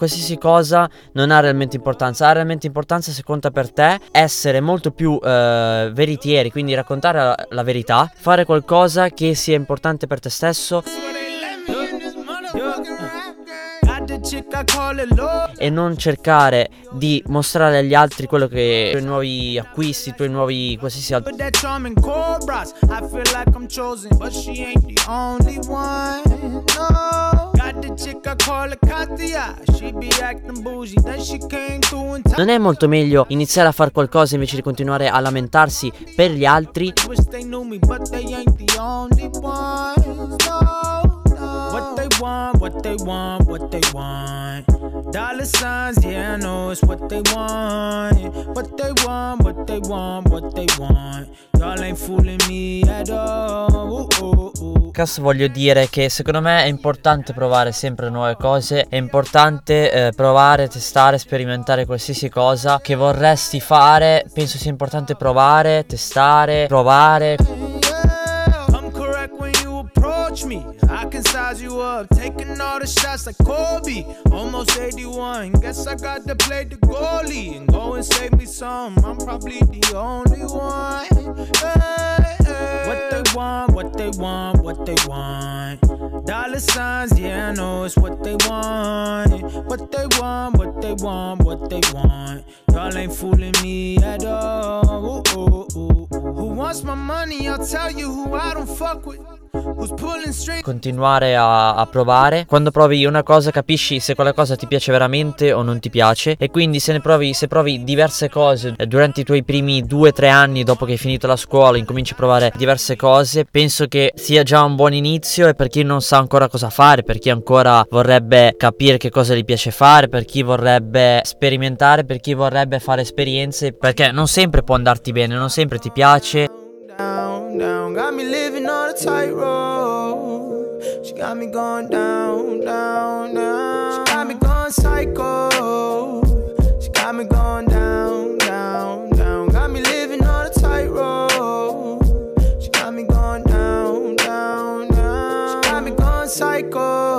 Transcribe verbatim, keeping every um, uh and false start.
qualsiasi cosa non ha realmente importanza. Ha realmente importanza, se conta per te, essere molto più eh, veritieri, quindi raccontare la, la verità, fare qualcosa che sia importante per te stesso e non cercare di mostrare agli altri quello che i tuoi nuovi acquisti, i tuoi nuovi qualsiasi altro. Non è molto meglio iniziare a fare qualcosa invece di continuare a lamentarsi per gli altri? What they want, what they want, what they want. Dollar signs, yeah, I know it's what they want. What they want, what they want, what they want. Y'all ain't fooling me at all. Ooh, ooh, ooh. Cazzo, voglio dire che secondo me è importante provare sempre nuove cose. È importante eh, provare, testare, sperimentare qualsiasi cosa che vorresti fare. Penso sia importante provare, testare, provare. Me. I can size you up, taking all the shots like Kobe. Almost eighty-one, guess I got to play the goalie and go and save me some. I'm probably the only one. Hey, hey. What they want, what they want, what they want. Dollar signs, yeah, I know it's what they want. What they want, what they want, what they want. Y'all ain't fooling me at all. Ooh, ooh, ooh. Who wants my money? I'll tell you who I don't fuck with. Continuare a, a provare. Quando provi una cosa capisci se quella cosa ti piace veramente o non ti piace. E quindi se ne provi, se provi diverse cose durante i tuoi primi due tre anni dopo che hai finito la scuola, incominci a provare diverse cose, penso che sia già un buon inizio. E per chi non sa ancora cosa fare, per chi ancora vorrebbe capire che cosa gli piace fare, per chi vorrebbe sperimentare, per chi vorrebbe fare esperienze, perché non sempre può andarti bene, non sempre ti piace. Down, down, got me living on a tightrope. She got me going down, down, down. She got me going psycho. She got me going down, down, down. Got me living on a tightrope. She got me going down, down, down. She got me going psycho.